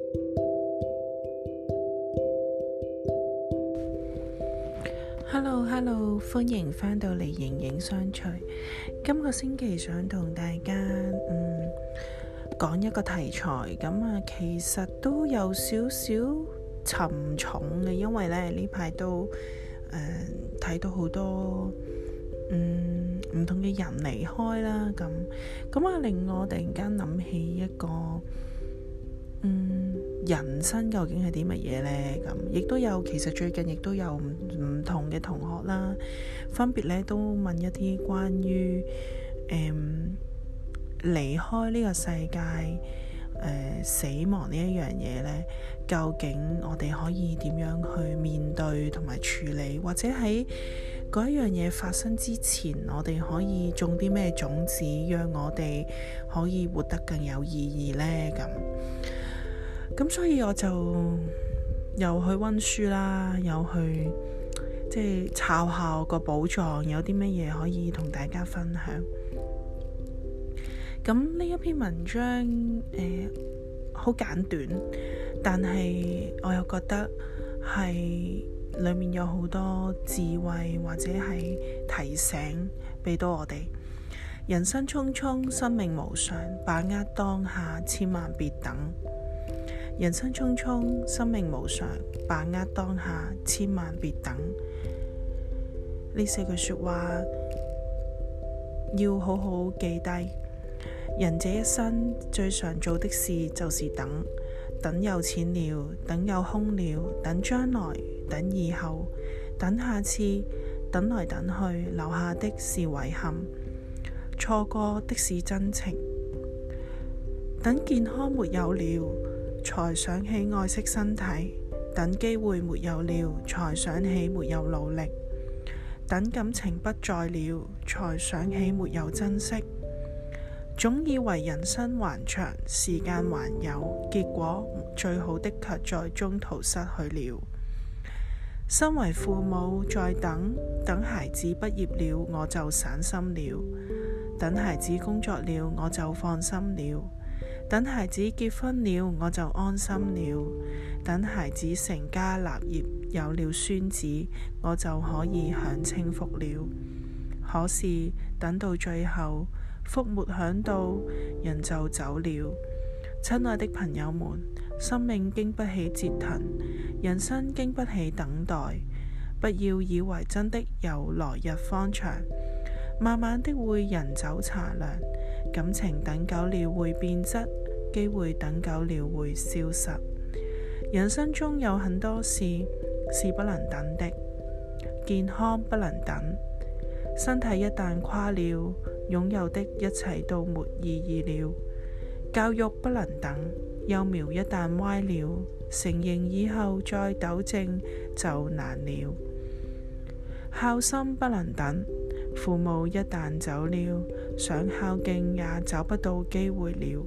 Hello， 歡迎返到嚟形影相隨。今個星期想同大家講一個題材，其實都有少少沉重嘅，因為呢排都睇到好多唔同嘅人離開啦，咁令我突然間諗起一個人生究竟係啲乜嘢呢？亦都有，其實最近亦都有唔同嘅同學啦，分別咧都問一啲關於離開呢個世界、死亡呢一樣嘢呢，究竟我哋可以點樣去面對同埋處理，或者喺嗰一樣嘢發生之前，我哋可以種啲咩種子，讓我哋可以活得更有意義呢？咁所以我就又去溫書啦，又去即係抄下個寶藏，有啲乜嘢可以同大家分享。咁呢一篇文章好簡短，但係我又覺得係裡面有好多智慧或者係提醒俾到我哋。人生匆匆，生命無常，把握當下，千萬別等。人生匆匆，生命無常，把握當下，千萬別等。呢四句說話要好好記低。人這一生最常做的事就是等，等有錢了，等有空了，等將來，等以後，等下次，等來等去，留下的是遺憾，錯過的是真情。等健康沒有了，才想起愛惜身體，等機會沒有了，才想起沒有努力，等感情不在了，才想起沒有珍惜。總以為人生還長，時間還有，結果最好的卻在中途失去了。身為父母，在等孩子畢業了，我就散心了；等孩子工作了，我就放心了；等孩子結婚了，我就安心了；等孩子成家立業，有了孫子，我就可以享清福了。可是等到最後，福沒享到，人就走了。親愛的朋友們，生命經不起折騰，人生經不起等待。不要以為真的有來日方長，慢慢的會人走茶涼。感情等久了會變質，機會等久了會消失。人生中有很多事是不能等的，健康不能等，身體一旦垮了，擁有的一切都沒意義了。教育不能等，幼苗一旦歪了，成形以後再糾正就難了。孝心不能等，父母一旦走了，想孝敬也找不到機會了。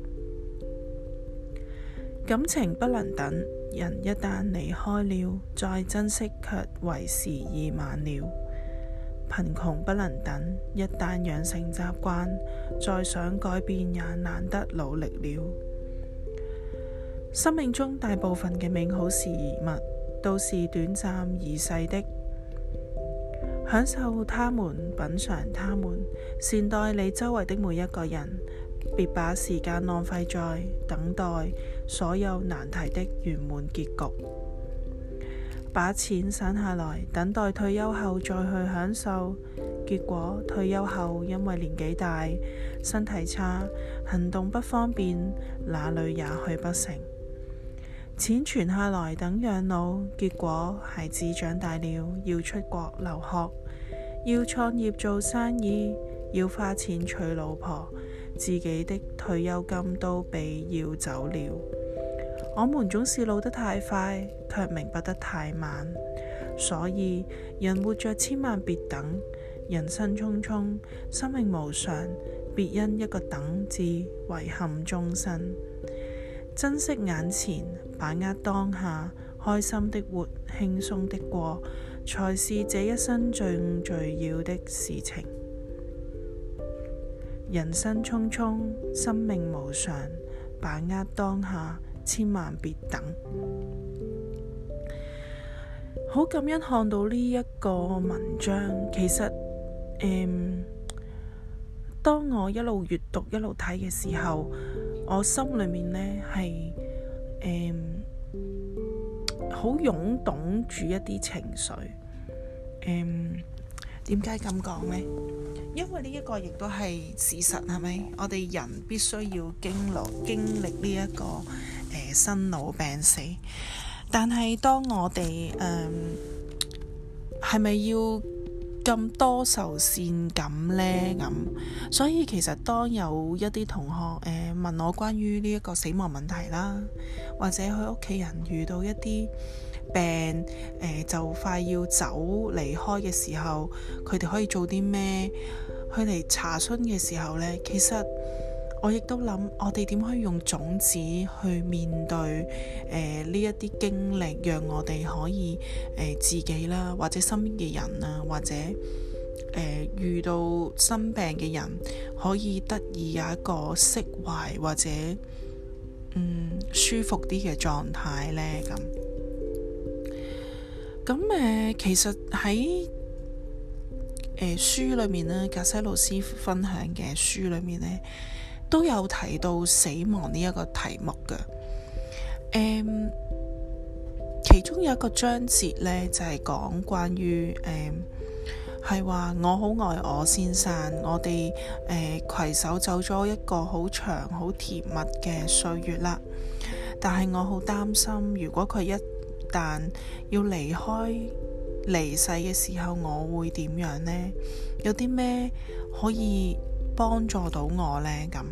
感情不能等，人一旦離開了，再珍惜卻為時已晚了。貧窮不能等，一旦養成習慣，再想改變也難得努力了。生命中大部分嘅美好事物都是短暫而逝的，享受他們，品嚐他們，善待你周圍的每一個人，別把時間浪費在等待所有難題的圓滿結局。把錢省下來，等待退休後再去享受，結果退休後因為年紀大、身體差、行動不方便，哪裏也去不成。錢存下來等養老，結果孩子長大了，要出國留學，要創業做生意，要花錢娶老婆，自己的退休金都被要走了。我們總是老得太快，卻明白得太慢，所以人活着千萬別等。人生匆匆，生命無常，別因一個等字遺憾終身。珍惜眼前，把握當下，開心的活，輕鬆的過，才是這一生最要的事情。人生匆匆，生命無常，把握當下， 千萬別等。好感恩看到呢一個文章，其實當我一路閱讀一路睇嘅時候，我心裏面呢係好湧動住一啲情緒。點解咁講呢？因為呢一個亦都係事實，係咪？我哋人必須要經歷呢一個生老病死。但係當我哋係咪要咁多愁善感呢？咁所以其實當有一啲同學問我關於呢一個死亡問題啦，或者佢屋企人遇到一啲病就快要走離開嘅時候，佢哋可以做啲咩？佢嚟查詢嘅時候呢，其實我亦都諗，我哋點可以用種子去面對呢一啲經歷，讓我哋可以自己啦，或者身邊嘅人啊，或者遇到生病嘅人，可以得以有一個釋懷或者舒服啲嘅狀態呢。咁其實喺書裏面呢，格西老師分享嘅書裏面呢，都有提到死亡呢一個題目嘅。其中有一個章節呢，就係講關於係話我好愛我先生，我哋攜手走咗一個好長好甜蜜嘅歲月啦。但係我好擔心，如果佢一旦要離世嘅時候，我會點樣呢？有啲咩可以幫助到我呢？咁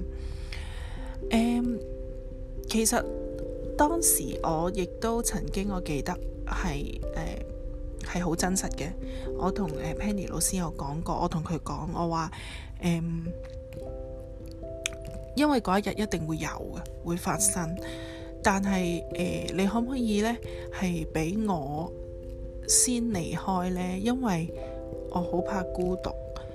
其實當時我亦都曾經，我記得係好真實嘅。我同Penny 老師有講過，我同佢講，我話因為嗰一日一定會有嘅，會發生。但係你可唔可以呢？係俾我先離開呢？因為我好怕孤獨。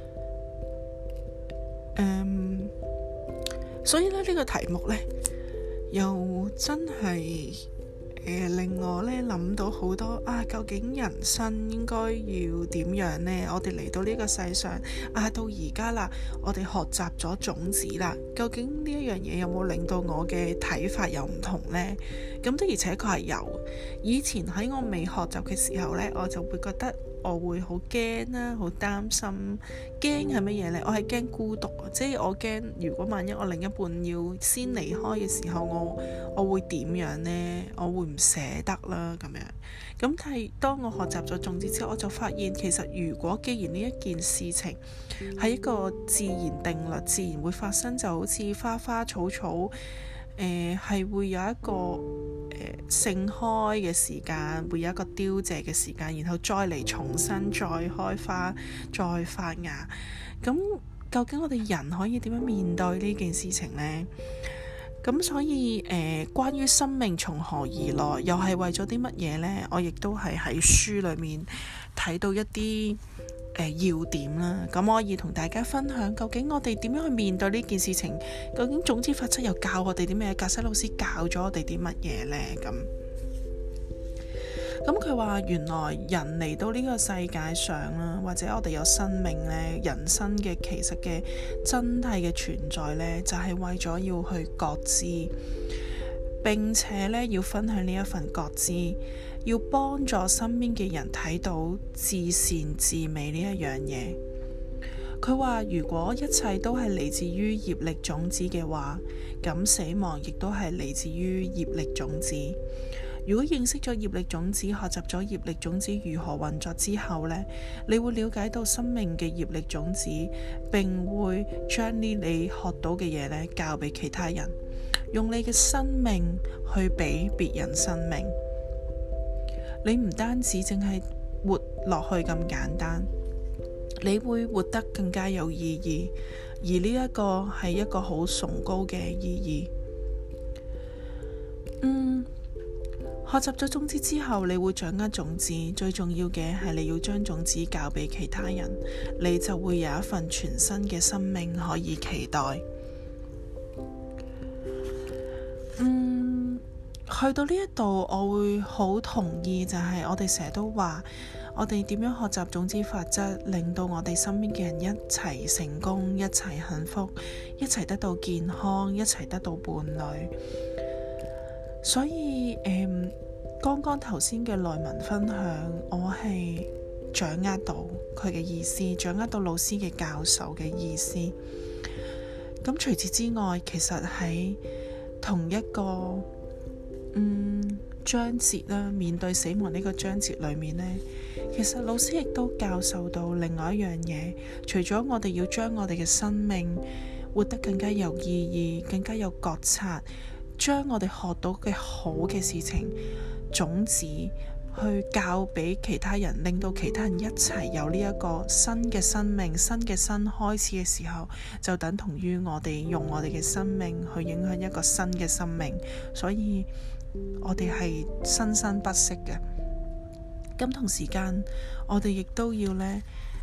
所以呢個題目呢，又真係令我呢諗到好多究竟人生應該要點樣呢？我哋嚟到呢個世上到而家啦，我哋學習咗種子啦，究竟呢一樣嘢有冇令到我嘅睇法又唔同呢？咁的而且確係有。以前喺我未學習嘅時候呢，我就會覺得我會好驚啦，好擔心。驚係乜嘢呢？我係驚孤獨，即係我驚如果萬一我另一半要先離開嘅時候，我會點樣呢？我會唔捨得啦咁樣。咁但係當我學習咗種子之後，我就發現其實如果既然呢一件事情係一個自然定律，自然會發生，就好似花花草草係會有一個盛開嘅時間，會有一個凋謝嘅時間，然後再嚟重新再開花再發芽。咁究竟我哋人可以點樣面對呢件事情呢？咁所以關於生命從何而來，又係為咗啲乜嘢呢？我亦都係喺書裏面睇到一啲要點啦。咁我可以同大家分享，究竟我哋點樣去面對呢件事情？究竟種子法則又教我哋啲咩？格西老師教咗我哋啲乜嘢呢？咁佢話原來人嚟到呢個世界上啦，或者我哋有生命呢，人生嘅其實嘅真諦嘅存在呢，就係為咗要去覺知，並且呢要分享呢一份覺知，要幫助身邊嘅人睇到至善至美呢一樣嘢。佢話如果一切都係嚟自於業力種子嘅話，咁死亡亦都係嚟自於業力種子。如果認識咗業力種子，學習咗業力種子如何運作之後呢，你會了解到生命嘅業力種子，並會將呢你學到嘅嘢呢教俾其他人，用你嘅生命去俾別人生命。你唔單止淨係活落去咁簡單，你會活得更加有意義，而呢一個係一個好崇高嘅意義。學習咗種子之後，你會掌握種子，最重要嘅係你要將種子教俾其他人，你就會有一份全新嘅生命可以期待。 去到呢一度，我會好同意，就係我哋成日都話，我哋點樣學習種子法則，令到我哋身邊嘅人一齊成功，一齊幸福，一齊得到健康，一齊得到伴侶。所以剛剛頭先嘅內文分享，我係掌握到佢嘅意思，掌握到老師嘅教授嘅意思。咁除此之外，其實喺同一個章節啦，面對死亡呢個章節裏面呢，其實老師亦都教授到另外一樣嘢。除咗我哋要將我哋嘅生命活得更加有意義，更加有覺察，將我哋學到嘅好嘅事情種子去教俾其他人，令到其他人一齊有呢一個新嘅生命、新嘅新開始嘅時候，就等同於我哋用我哋嘅生命去影響一個新嘅生命。所以我哋係生生不息嘅。咁同時間我哋亦都要呢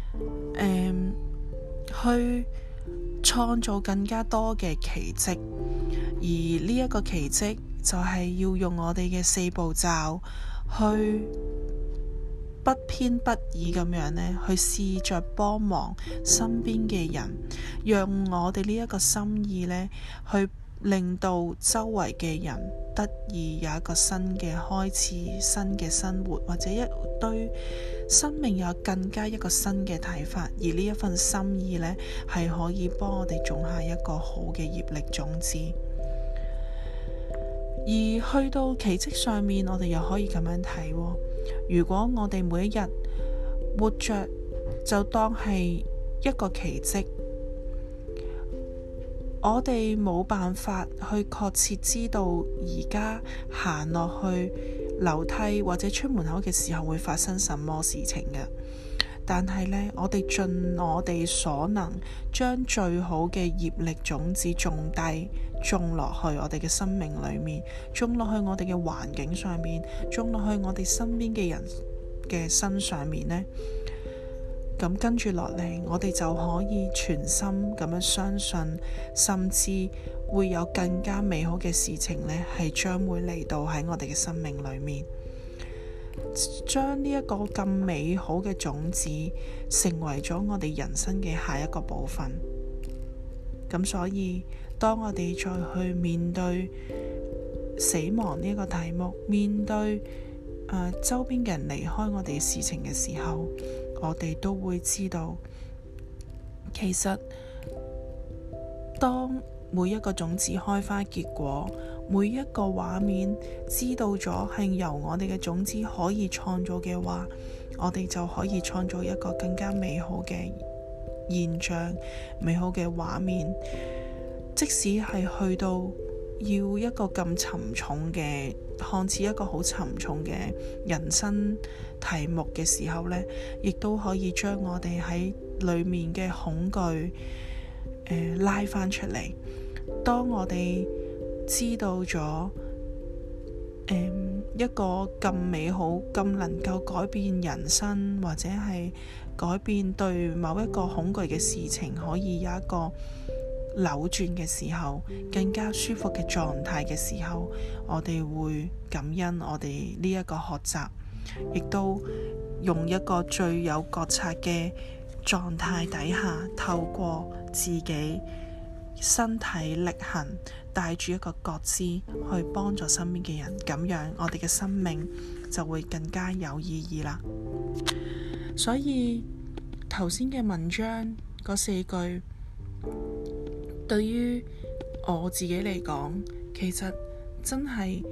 去創造更加多嘅奇蹟，而呢一個奇蹟就係要用我哋嘅4步驟去不偏不倚咁樣呢，去試着幫忙身邊嘅人，讓我哋呢一個心意呢，去令到周圍嘅人得以有一個新嘅開始，新嘅生活，或者一對生命有更加一個新嘅睇法。而呢一份心意呢，係可以幫我哋種下一個好嘅業力種子。而去到奇蹟上面，我哋又可以咁樣睇喎。如果我哋每一日活着就當係一個奇蹟，我哋冇辦法去確切知道而家行落去樓梯或者出門口嘅時候會發生什麼事情嘅。但係呢，我哋盡我哋所能，將最好嘅業力種子種低，種落去我哋嘅生命裏面，種落去我哋嘅環境上面，種落去我哋身邊嘅人嘅身上面呢。咁跟住落嚟，我哋就可以全心咁樣相信，甚至會有更加美好嘅事情呢，係將會嚟到喺我哋嘅生命裏面，將呢一個咁美好嘅種子成為咗我哋人生嘅下一個部分。咁所以當我哋再去面對死亡呢一個題目，面對周邊嘅人離開我哋嘅事情嘅時候，我哋都會知道，其實當每一個種子開花結果，每一個畫面知道咗係由我哋嘅種子可以創造嘅話，我哋就可以創造一個更加美好嘅現象，美好嘅畫面。即使係去到要一個咁沉重嘅，看似一個好沉重嘅人生題目嘅時候呢，亦都可以將我哋喺裏面嘅恐懼拉返出嚟。當我哋知道咗一個咁美好、咁能夠改變人生，或者係改變對某一個恐懼嘅事情可以有一個扭轉嘅時候，更加舒服嘅狀態嘅時候，我哋會感恩我哋呢一個學習，亦都用一個最有覺察嘅狀態底下，透過自己身體力行，帶住一個覺知去幫助身邊嘅人，咁樣我哋嘅生命就會更加有意義啦。所以頭先嘅文章嗰4句，對於我自己嚟講，其實真係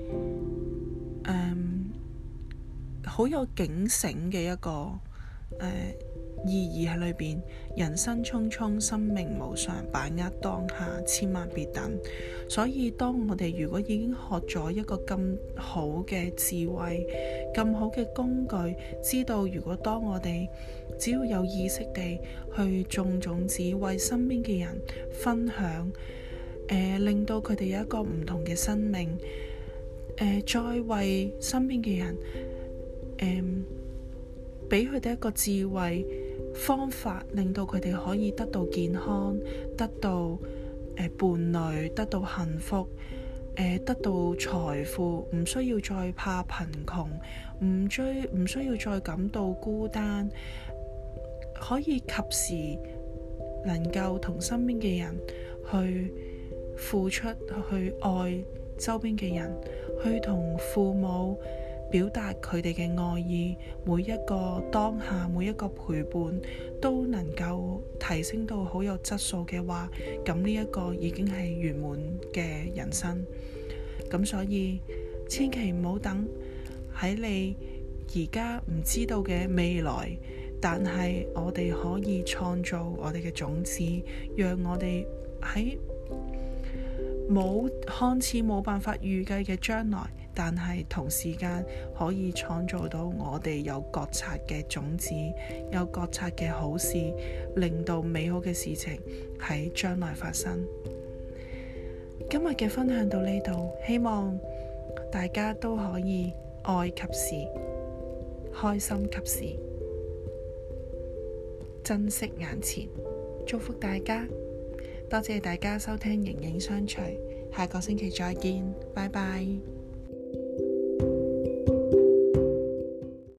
好有警醒嘅一個意義喺裏邊。人生匆匆，生命無常，把握當下，千萬別等。所以當我哋如果已經學咗一個咁好嘅智慧，咁好嘅工具，知道如果當我哋只要有意識地去種種子，為身邊嘅人分享，令到佢哋有一個唔同嘅生命，再為身邊嘅人俾佢哋一個智慧方法，令到佢哋可以得到健康，得到伴侶，得到幸福， 得到財富，唔需要再怕貧窮，唔需要再感到孤單，可以及時能夠同身邊嘅人去付出，去愛周邊嘅人，去同父母表達佢哋嘅愛意，每一個當下，每一個陪伴都能夠提升到好有質素嘅話，咁呢一個已經係圓滿嘅人生。咁所以千祈唔好等喺你而家唔知道嘅未來，但係我哋可以創造我哋嘅種子，讓我哋喺看似冇辦法預計嘅將來，但係同時間可以創造到我哋有覺察嘅種子，有覺察嘅好事，令到美好嘅事情喺將來發生。今日嘅分享到呢度，希望大家都可以愛及時，開心及時，珍惜眼前。祝福大家，多謝大家收聽形影相隨，下個星期再見，拜拜。